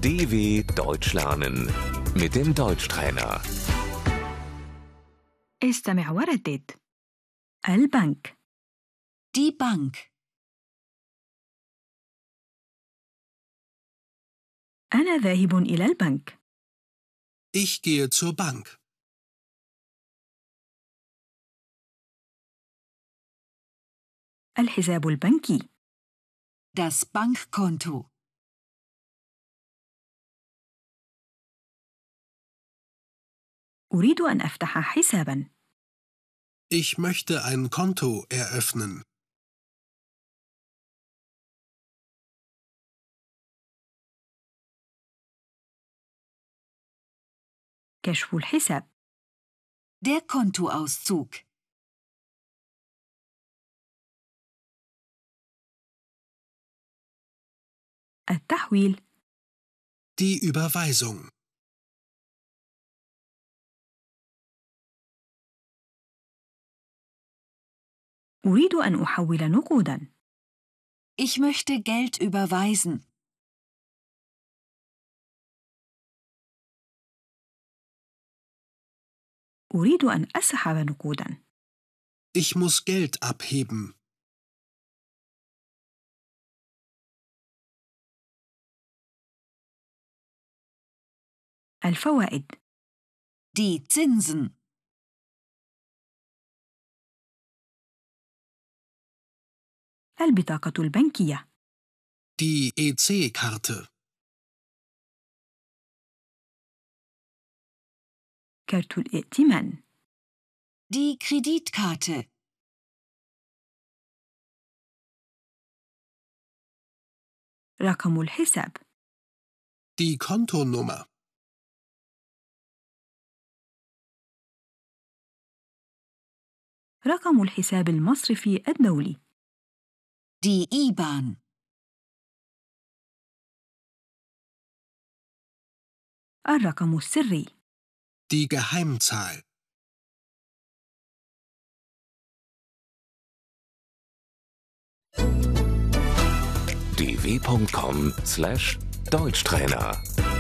DW Deutsch lernen mit dem Deutschtrainer. استمع وردد. البنك. Die Bank. أنا ذاهب إلى البنك. Ich gehe zur Bank. الحساب البنكي. Das Bankkonto. أريد أن أفتح حساباً. Ich möchte ein Konto eröffnen. كشف الحساب. Der Kontoauszug. التحويل. Die Überweisung. أريد أن أحول نقوداً. Ich möchte Geld überweisen. أريد أن أسحب نقوداً. Ich muss Geld abheben. الفوائد. Die Zinsen. البطاقة البنكية. Die EC-Karte. كارت الائتمان. Die Kreditkarte. رقم الحساب. Die Kontonummer. رقم الحساب المصرفي الدولي. Die IBAN. الرقم السري. Die Geheimzahl. dw.com/Deutschtrainer